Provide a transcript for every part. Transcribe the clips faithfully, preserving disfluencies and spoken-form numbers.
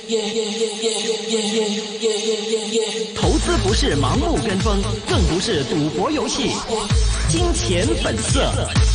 投资不是盲目跟风，更不是赌博游戏。金钱本色。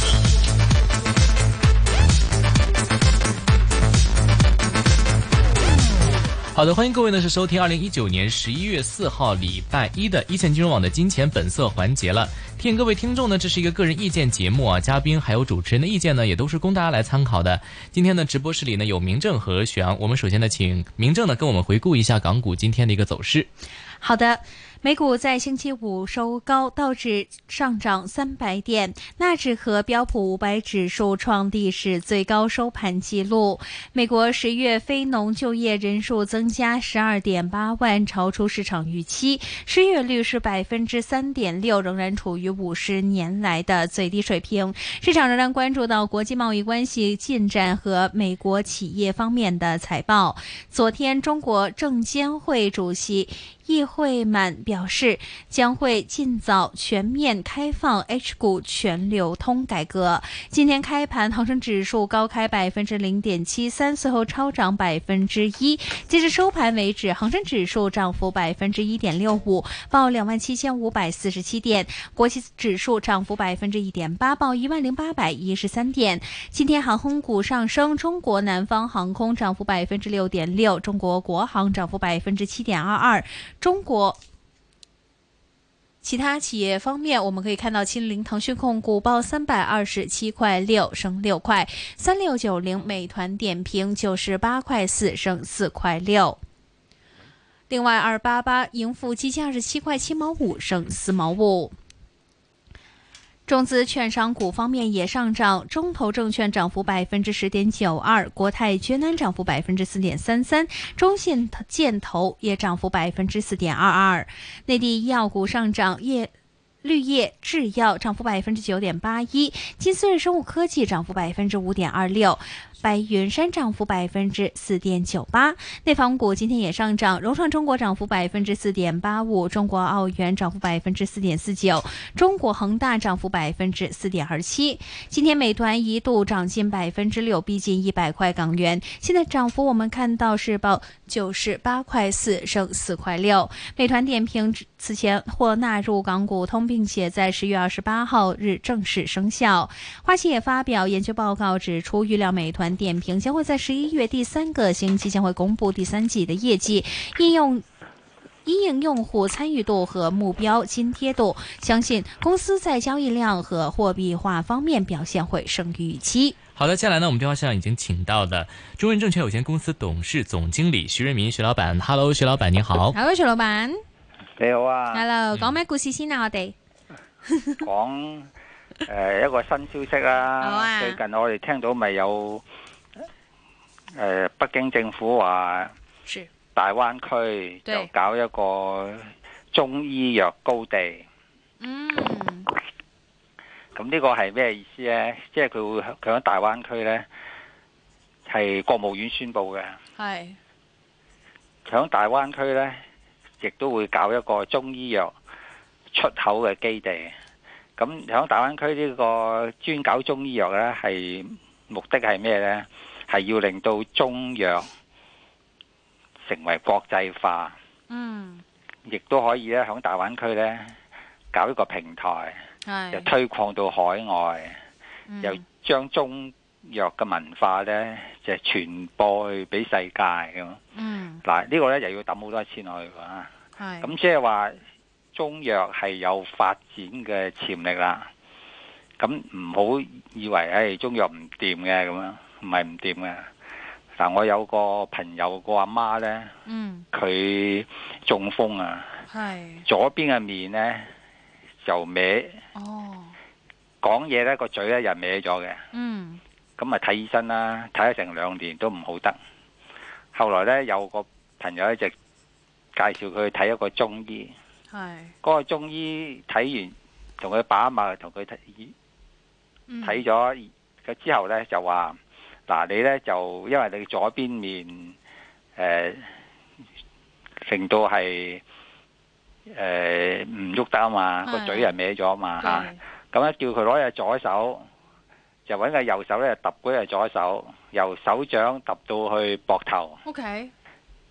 好的，欢迎各位呢是收听二零一九年十一月四号礼拜一的一线金融网的金钱本色环节了。提醒各位听众呢，这是一个个人意见节目啊，嘉宾还有主持人的意见呢，也都是供大家来参考的。今天呢，直播室里呢有明正和许阳，我们首先呢请明正呢跟我们回顾一下港股今天的一个走势。 好的。美股在星期五收高，道指上涨三百点，纳指和标普五百指数创历史最高收盘纪录。美国十月非农就业人数增加 十二点八万，超出市场预期，失业率是 百分之三点六， 仍然处于五十年来的最低水平。市场仍然关注到国际贸易关系进展和美国企业方面的财报。昨天，中国证监会主席易会满表示，将会尽早全面开放 H 股全流通改革。今天开盘，恒生指数高开 百分之零点七三， 随后超涨 百分之一。截至收盘为止，恒生指数涨幅 百分之一点六五， 报 两万七千五百四十七点。国际指数涨幅 百分之一点八， 报 一万零八百一十三点。今天航空股上升，中国南方航空涨幅 百分之六点六， 中国国航涨幅 百分之七点二二。中国其他企业方面，我们可以看到秦岭腾讯控股报三百二十七块六，升六块；三六九零美团点评九十八块四，升四块六。另外，二八八盈富基金二十七块七毛五，升四毛五。中资券商股方面也上涨，中投证券涨幅 百分之十点九二， 国泰君安涨幅 百分之四点三三， 中信建投也涨幅 百分之四点二二。内地医药股上涨，业绿叶制药涨幅 百分之九点八一， 金斯瑞生物科技涨幅 百分之五点二六，白云山涨幅 百分之四点九八。 内房股今天也上涨，融创中国涨幅 百分之四点八五， 中国奥园涨幅 百分之四点四九， 中国恒大涨幅 百分之四点二七。 今天美团一度涨近 百分之六， 逼近一百块港元，现在涨幅我们看到是报九十八块四，升四块六。美团点评此前或纳入港股通，并且在十月二十八号日正式生效。花旗也发表研究报告指出，预料美团点评将会在十一月第三个星期将会公布第三季的业绩，应用因应用户参与度和目标津贴度，相信公司在交易量和货币化方面表现会胜于预期。 好的，接下来呢，我们电话上已经请到的中润证券有限公司董事总经理徐润民徐老板。 Hello， 徐老板你好。 Hello， 徐老板你好啊。 Hello， 講咩故事先啊？我哋講誒一個新消息啦。 好啊。 最近我哋聽到咪有誒北京政府話大灣區就搞一個中醫藥高地。 嗯。 咁呢個係咩意思呢？即係佢會佢喺大灣區呢，係國務院宣布嘅。 係。 佢喺大灣區呢，亦都會搞一個中醫藥出口嘅基地。咁喺大灣區呢個專搞中醫藥呢，係目的係咩呢？係要令到中藥成為國際化。 嗯。亦都可以咧喺大灣區呢搞一個平台，又推廣到海外，嗯、又將中藥嘅文化呢就傳播去俾世界咁。嗯。嗱，呢個呢又要抌好多錢落去㗎。咁即係話中藥係有發展嘅潛力啦。咁唔好以為誒、哎、中藥唔掂嘅咁樣，唔係唔掂嘅。嗱，我有個朋友個阿媽呢，佢、嗯、中風啊，左邊嘅面呢就歪，講嘢呢個嘴呢又歪咗嘅。咁咪睇醫生啦，睇咗成兩年都唔好得。後來呢，有個朋友一直介紹佢去睇一個中醫，嗰、嗰個中醫睇完同佢把脈，同佢睇睇咗佢之後呢，就話。嗱，你咧就因為你左邊面誒令到係誒唔喐得啊嘛，個嘴人歪咗啊嘛嚇，咁咧叫佢攞隻左手，就揾個右手咧揼嗰隻左手，由手掌揼到去膊頭。 OK。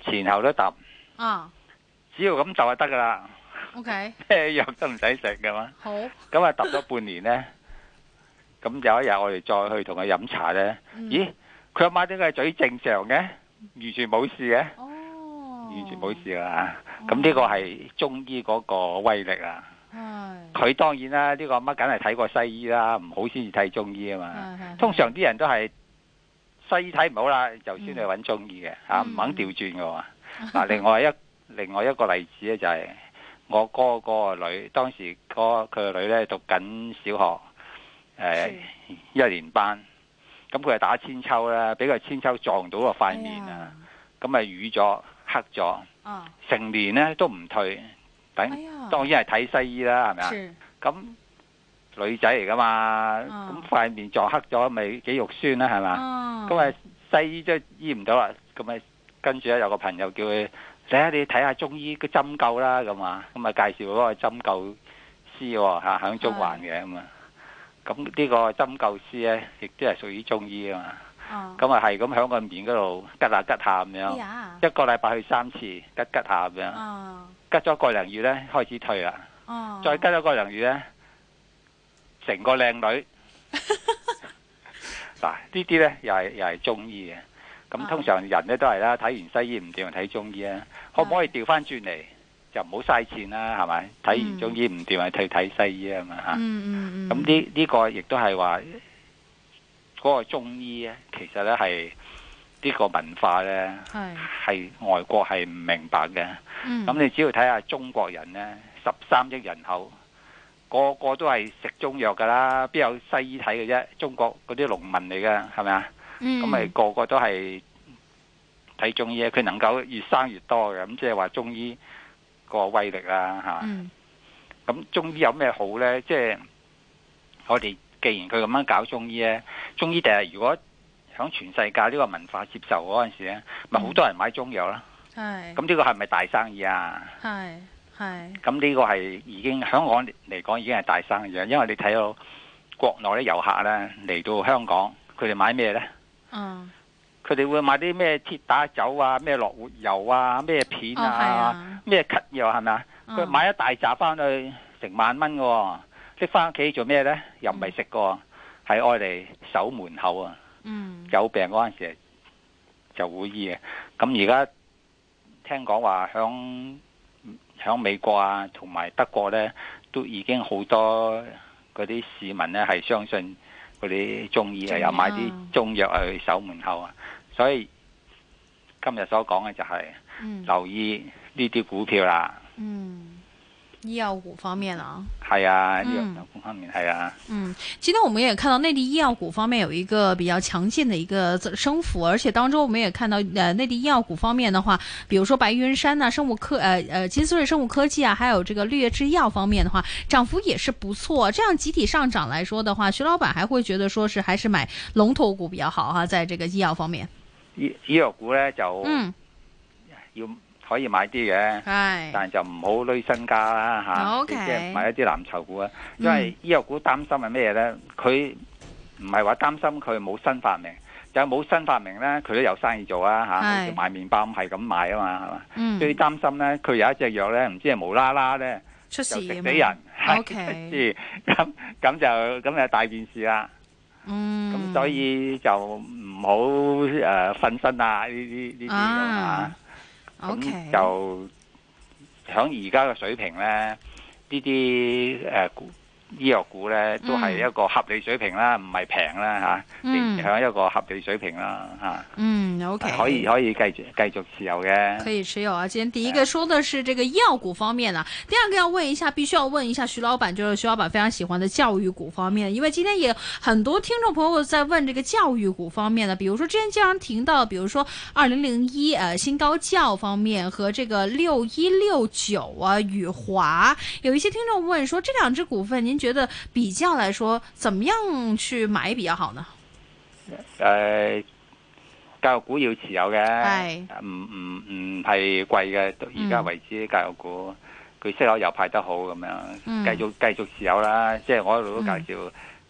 前後都揼， 啊， 只要咁就就得噶啦。 OK， 咩藥都唔使食噶嘛。 好。 咁啊揼咗半年咧，咁有一日我哋再去同佢飲茶咧， 嗯、 咦？佢阿媽點解嘴正常嘅，完全冇事嘅？ 哦， 完全冇事啊！咁呢個係中醫嗰個威力啊！佢、 哦、 當然啦，呢、這個阿媽梗係睇過西醫啦，唔好先至睇中醫啊嘛。通常啲人都係西醫睇唔好啦，就先去揾中醫嘅嚇，唔、嗯啊、肯調轉嘅喎。嗱，另外一另外一個例子咧就係、是、我哥嗰個女，當時嗰佢個女咧讀緊小學，誒、呃、一年班，咁佢係打千秋啦，俾個千秋撞到個塊面啊，咁咪瘀咗黑咗，成年咧都唔退。等、哎、當然係睇西醫啦，係咪啊？咁女仔嚟噶嘛，咁塊、哦、面撞黑咗，咪幾肉酸啦，係嘛？咁啊、哦、西醫都醫唔到啦，咁咪跟住咧有個朋友叫佢睇下你睇下中醫個針灸啦，咁啊，咁啊介紹嗰個針灸師喎嚇，響中環嘅咁啊，咁呢個針灸師咧亦都係屬於中醫啊嘛，咁啊係咁響個面嗰度吉下吉下咁樣，哎、一個禮拜去三次吉吉下咁樣。哦，吉咗個零月咧，開始退啦。哦，再吉咗個零月咧，成個靚女。嗱，呢啲咧又係又係中醫嘅。咁通常人咧都係啦，睇完西醫唔掂，睇中醫啊。可唔可以調翻轉嚟，就唔好嘥錢啦，係咪？睇完中醫唔掂，咪去睇西醫啊嘛嚇。嗯嗯。咁呢呢個亦都係話嗰個中醫咧，其實咧係。呢個文化呢，係外國係唔明白嘅。咁、嗯、你只要睇下中國人呢，十三億人口，個個都係食中藥噶啦，邊有西醫睇嘅啫？中國嗰啲農民嚟嘅，係咪啊？咁咪、嗯、個個都係睇中醫，佢能夠越生越多嘅。咁即係話中醫個威力啦嚇。咁、嗯、中醫有咩好呢？即、就、係、是、我哋既然佢咁樣搞中醫呢，中醫第日如果響全世界呢個文化接受嗰陣時咧，咪好、嗯、多人買中藥啦。係。咁呢個係咪大生意啊？係係。咁呢個係已經香港嚟講已經係大生意啊，因為你睇到國內啲遊客咧嚟到香港，佢哋買咩咧？嗯。佢哋會買啲咩鐵打酒啊、咩樂活油啊、咩片啊、咩咳藥係咪啊？佢、嗯、買一大紮翻去成萬蚊嘅，拎翻屋企做咩咧？又唔係食嘅，係愛嚟守門口啊！嗯、有病嗰陣時就會醫嘅，咁而家聽講話響響美國啊，同埋德國呢，都已經好多嗰啲市民呢係相信嗰啲中醫啊，又買啲中藥去守門口啊，所以今日所講嘅就係、是嗯、留意呢啲股票啦。嗯。 醫藥股方面啊， 係啊，醫藥股方面係啊。 嗯，今天我們也看到內地醫藥股方面有一個比較強勁的一個升幅，而且當中我們也看到，呃，內地醫藥股方面的話，比如說白雲山啊、生物科，呃呃，金斯瑞生物科技啊，還有這個綠葉製藥方面的話，漲幅也是不錯。這樣集體上漲來說的話，徐老闆還會覺得說是還是買龍頭股比較好哈、啊，在這個醫藥方面。 醫醫藥股呢就嗯要。可以買啲嘅，但係就唔好攞身家啦嚇，即係買一啲藍籌股啊。因為醫藥股擔心係咩咧？佢唔係話擔心佢冇新發明，就係冇新發明咧，佢都有生意做啊嚇。好似賣麵包咁係咁賣啊嘛，係嘛？最擔心咧，佢有一隻藥咧，唔知係無啦啦咧出事就食死人， 係咁咁就咁就大件事啦。嗯，咁所以就唔好誒瞓身啊！呢啲呢啲啊。咁、okay. 就響而家嘅水平咧，呢啲誒醫藥股咧都係一個合理水平啦，唔係平啦吓，嗯，響一個合理水平啦吓。 嗯 ，OK， 可以可以繼續繼續持有嘅。 可以持有啊！今天第一個說的是這個醫藥股方面啊，第二個要問一下，必須要問一下徐老闆，就是徐老闆非常喜歡的教育股方面，因為今天也很多聽眾朋友在問這個教育股方面的，比如說之前經常聽到，比如說二零零一呃新高教方面和這個六一六九啊宇華，有一些聽眾問說，這兩隻股份您覺得比較來說，怎麼樣去買比較好呢？ 誒、呃，教育股要持有嘅，唔唔唔係貴嘅，到而家為止教育股，佢息口又派得好咁樣，繼、嗯、續繼續持有啦。即係我一路都介紹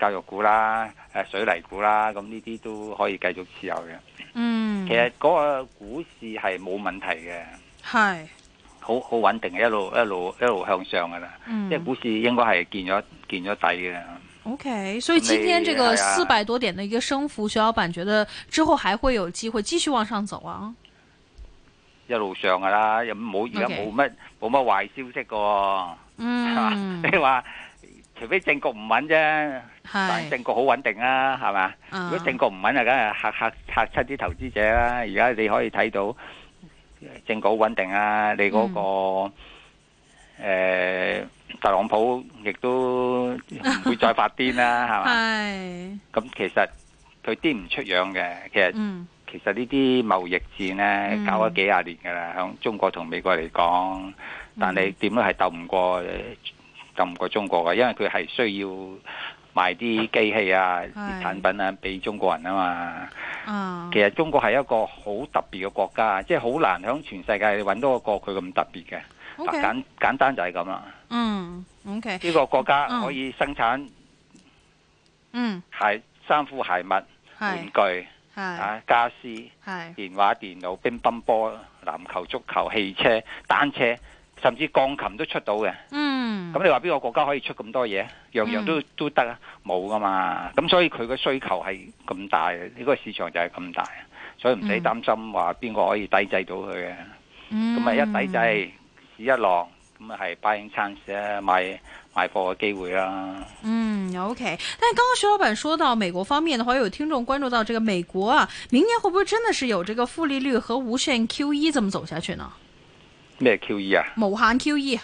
教育股啦、誒水泥股啦，咁呢啲都可以繼續持有嘅。 嗯， 其實嗰個股市係冇問題嘅， 係好好穩定嘅，一路一路一路向上噶啦。 嗯， 即係股市應該係見咗見咗底嘅。 OK，所以今天這個四百多點的一個升幅，徐老闆覺得之後還會有機會繼續往上走啊？ 一路上噶啦，又冇而家冇乜冇乜壞消息噶。嗯，你話除非政局唔穩啫，但係政局好穩定啊，係嘛？如果政局唔穩啊，梗係嚇嚇嚇親啲投資者啦。而家你可以睇到政局好穩定啊，你嗰、那個誒、嗯呃、特朗普亦都唔會再發癲啦，係嘛？係。咁其實佢癲唔出樣嘅，其實。嗯其實呢啲貿易戰呢，搞咗幾廿年噶啦，響中國同美國嚟講，但係點都係鬥唔過，鬥唔過中國嘅，因為佢係需要賣啲機器啊、啲產品啊俾中國人啊嘛。嗯、其實中國係一個好特別嘅國家，即係好難響全世界揾到一個佢咁特別嘅。Okay. 簡簡單就係咁啦。嗯，OK。呢個國家可以生產，嗯，鞋、衫褲鞋襪、玩具。啊！家私、電話、電腦、乒乓波、籃球、足球、汽車、單車，甚至鋼琴都出到嘅。嗯，咁你話邊個國家可以出咁多嘢？樣樣都、嗯、都得啊？冇噶嘛。咁所以佢個需求係咁大，呢、呢個市場就係咁大，所以唔使擔心話邊個可以抵制到佢嘅。咁啊、嗯、一抵制市一落，咁啊係 buying chance 啊，買買貨嘅機會啦。 嗯 ，OK。但係剛剛徐老闆說到美國方面的話，有聽眾關注到這個美國啊，明年會不會真的是有這個負利率和無限 Q E 這麼走下去呢？ 咩 Q E 啊？ 無限 Q E。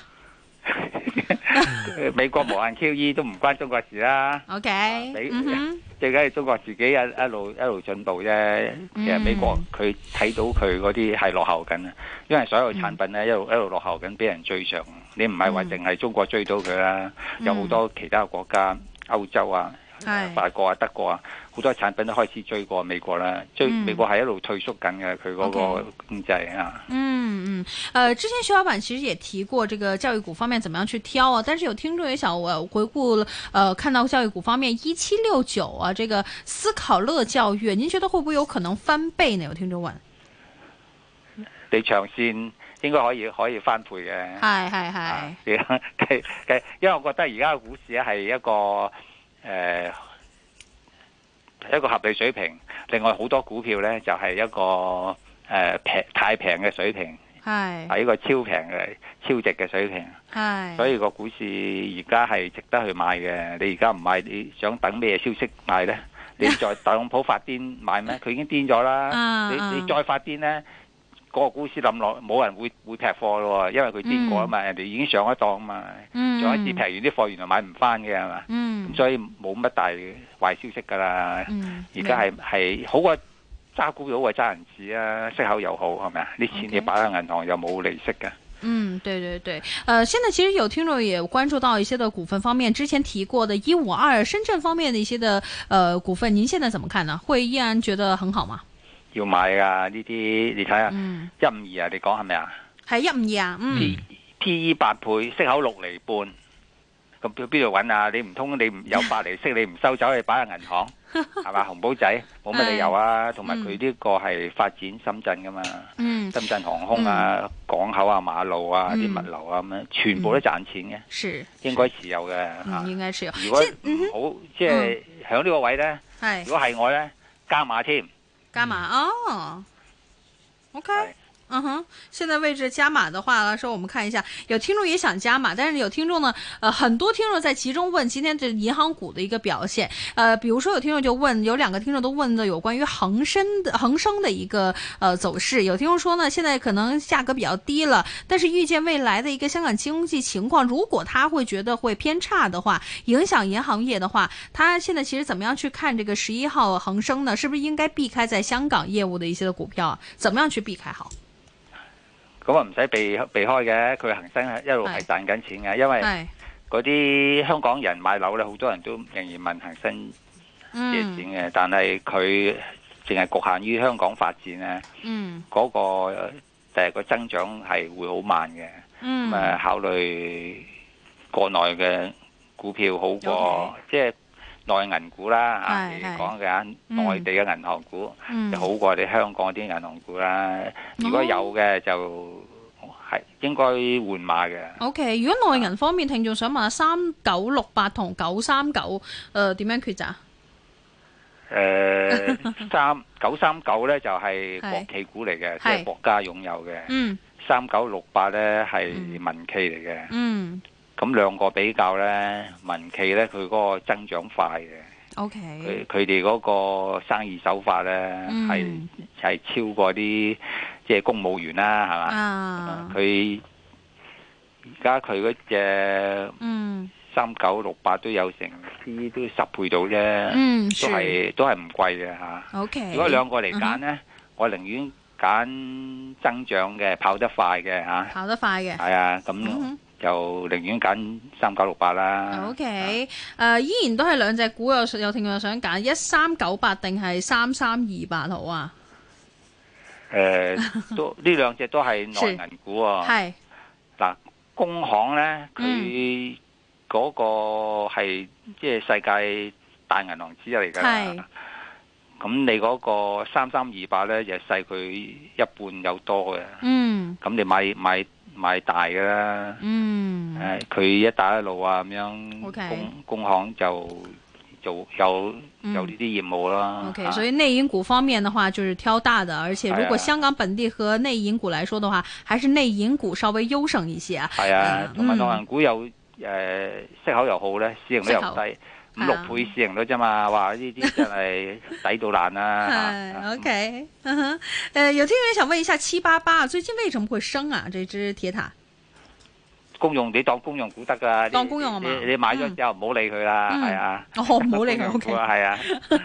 美國無限 Q E 都唔關中國事啦。OK、啊。你、嗯、哼最緊係中國自己一一路一路進步啫。嗯、其實美國佢睇到佢嗰啲係落後緊啊，因為所有產品咧一路一路落後緊，俾人追上。你唔係話淨係中國追到佢啦，嗯、有好多其他國家，歐洲啊、嗯、法國啊、德國啊，好多產品都開始追過美國啦。追、嗯、美國係一路退縮緊嘅，佢嗰個經濟啊。 嗯嗯，呃，之前徐老闆其實也提過這個教育股方面怎麼樣去挑啊，但是有聽眾也想我回顧，呃，看到教育股方面一七六九啊，這個思考樂教育，您覺得會不會有可能翻倍呢？有聽眾問。 你長線。應該可以可以翻倍嘅， 係係係。 因為我覺得而家嘅股市咧係一個誒、呃、一個合理水平，另外好多股票咧就係、是、一個誒平、呃、太平嘅水平，係係一個超平嘅超值嘅水平，係。所以個股市而家係值得去買嘅。你而家唔買，你想等咩消息買咧？你再特朗普發癲買咩？佢已經癲咗啦。你你再發癲咧？嗰個股市冧落，冇人會會劈貨咯，因為佢癲過啊嘛，嗯、人哋已經上一檔啊嘛，嗯、上一次劈完啲貨，原來買唔翻嘅係嘛，咁、嗯、所以冇乜大壞消息噶啦。而家係係好過揸股票好過揸銀紙啊，息口又好係咪啊？啲錢你擺喺銀行又冇利息嘅。 嗯，對對對，呃，現在其實有聽眾也關注到一些的股份方面，之前提過的一五二深圳方面的一些的呃股份，您現在怎麼看呢？會依然覺得很好嗎？ 要買噶呢啲，你睇下一五二啊，你講係咪啊？係一五二啊，嗯。P P E 八倍，息口六厘半，咁去邊度揾啊？你唔通你唔有八厘息，你唔收走，你擺喺銀行，係嘛？紅寶仔冇乜理由啊。同埋佢呢個係發展深圳噶嘛，嗯、深圳航空啊、嗯、港口啊、馬路啊、啲、嗯、物流啊咁樣，全部都賺錢嘅，是應該持有嘅嚇。 嗯、應該持有。 如果唔好，即係喺呢個位咧， 嗯、 如果係我咧，加碼添。 加碼哦，OK，嗯哼，現在位置加碼的話來說，我們看一下，有聽眾也想加碼，但是有聽眾呢，呃，很多聽眾在其中問今天這銀行股的一個表現，呃，比如說有聽眾就問，有兩個聽眾都問的有關於恒生的恒生的一個呃走勢，有聽眾說呢，現在可能價格比較低了，但是預見未來的一個香港經濟情況，如果他會覺得會偏差的話，影響銀行業的話，他現在其實怎麼樣去看這個十一號恒生呢？是不是應該避開在香港業務的一些的股票啊？怎麼樣去避開好？ 咁啊唔使避避開嘅，佢恒生係一路係賺緊錢嘅，因為嗰啲香港人買樓咧，好多人都仍然問恒生借錢嘅，嗯、但係佢淨係局限於香港發展咧，嗰、嗯、個第日個增長係會好慢嘅，咁啊、嗯、考慮國內嘅股票好過，即係、嗯。 內銀股啦嚇，嚟講嘅內地嘅銀行股、嗯、就好過你香港啲銀行股啦。嗯、如果有嘅就係應該換馬嘅。 O、okay, K， 如果內銀方面，聽眾想問下三九六八同九三九，誒點樣抉擇？ 誒三九三九咧就係、是、國企股嚟嘅，即係國家擁有嘅。嗯。三九六八咧係民企嚟嘅。嗯。咁兩個比較咧，民企咧佢嗰個增長快嘅。O K。佢佢哋嗰個生意手法咧係係超過啲即係公務員啦，係嘛？啊。佢而家佢嗰隻嗯三九六八都有成啲都十倍到啫。嗯。都係都係唔貴嘅嚇。O K。如果兩個嚟揀咧，我寧願揀增長嘅，跑得快嘅嚇。跑得快嘅。係啊，咁。就寧願揀三九六八啦。 O K， 誒依然都係兩隻股，有有聽眾想揀一三九八定係三三二八好啊？ 誒、呃，都呢兩隻都係內銀股啊。係嗱，工行咧，佢嗰個係即係世界大銀行之一嚟㗎。係。咁你嗰個三三二八咧，就細佢一半有多嘅。嗯。咁你買買。買大嘅啦，嗯，誒，佢一帶一路啊咁樣，工工行就做有有呢啲業務啦。 OK，啊、所以內銀股方面的話，就是挑大的，而且如果香港本地和內銀股來說的話，還是內銀股稍微優勝一些。係啊，同埋內銀股有誒、呃、息口又好咧，市盈率又低。五六倍市盈率啫嘛，哇！呢啲真係抵到爛啦。 O K， 嗯哼，誒，有聽人想問一下七八八最近為什麼會升啊？這支鐵塔公用，你當公用股得噶， 當公用啊嘛。 你你買咗之後唔好理佢啦，係啊。 哦，唔好理佢。O K， 係啊。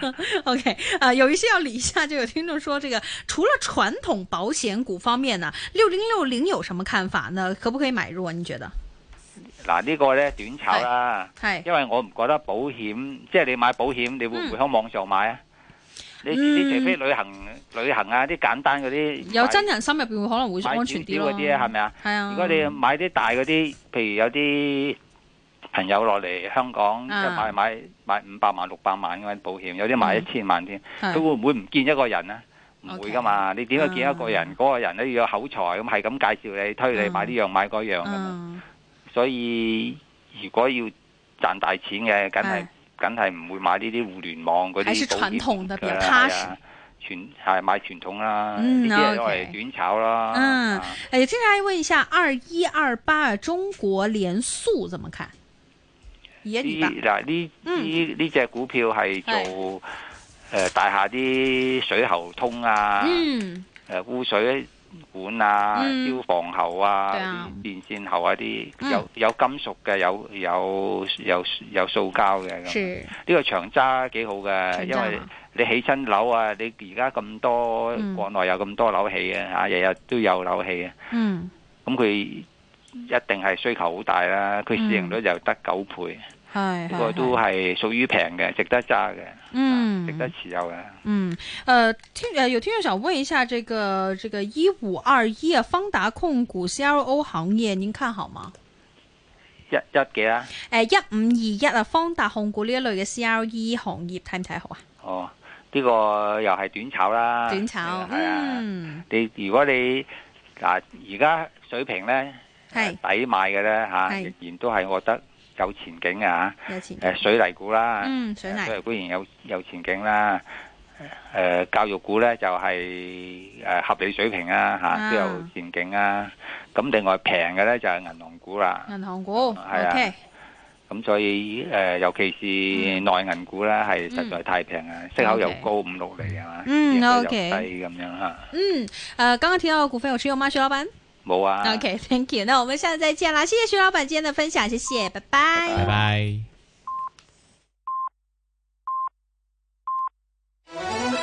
O K， 啊，有一些要理一下，就有聽眾說，這個除了傳統保險股方面呢，六零六零有什麼看法呢？可不可以買入啊？你覺得？ 嗱，呢個咧短炒啦，因為我唔覺得保險，即係你買保險，你會唔會喺網上買啊？你你除非旅行旅行啊，啲簡單嗰啲有真人心入邊會可能會安全啲咯。 嗰啲係咪啊？係啊。如果你買啲大嗰啲，譬如有啲朋友落嚟香港，即係買買買五百萬、六百萬咁樣保險，有啲買一千萬添，佢會唔會唔見一個人啊？唔會噶嘛，你點解見一個人？嗰個人咧要有口才，咁係咁介紹你，推你買呢樣買嗰樣噶嘛。所以如果要賺大錢嘅，梗係梗係唔會買呢啲互聯網嗰啲保險。還是傳統的比較踏實。傳係買傳統啦，呢啲係攞嚟短炒啦。 嗯，誒，接下來問一下二一二八中國聯塑怎麼看？ 呢嗱呢呢呢隻股票係做誒大廈啲水喉通啊，誒污水管啊、嗯、消防喉啊、啊電線喉啊啲，有有金屬嘅，有有有有塑膠嘅咁。呢個長揸幾好嘅，因為你起親樓啊，你而家咁多、嗯、國內有咁多樓起嘅嚇，日日都有樓起嘅。嗯，咁佢一定係需求好大啦。佢市盈率就得九倍。係，呢個都係屬於平嘅，值得揸嘅，嗯，值得持有嘅。 嗯，呃，聽，呃，有聽眾想問一下，這個，這個一五二一啊，方達控股 C R O 行業，您看好嗎？ 一一幾啊？ 誒，一五二一啊，方達控股呢一類嘅 C R E 行業睇唔睇好啊？ 哦，呢個又係短炒啦， 短炒，係啊， 你如果你嗱而家水平咧係抵買嘅咧吓，仍然都係我覺得。有前景啊！有前景，誒水泥股啦，嗯，水泥水泥股然有有前景啦。誒、呃、教育股咧就係、是、誒合理水平啊，嚇、啊、都有前景啊。咁另外平嘅咧就係、是、銀行股啦。 銀行股係啊。咁、 okay. 所以誒、呃，尤其是內銀股咧，係實在太平啊，息口又高五六厘係嘛， 嗯，O K， 低咁樣嚇。 嗯，誒、呃，剛剛提到嘅股份有持有嗎，徐老闆？ 冇啊。 OK，Thank you。那我們下次再見啦，謝謝徐老闆今天的分享，謝謝，拜拜。 拜拜。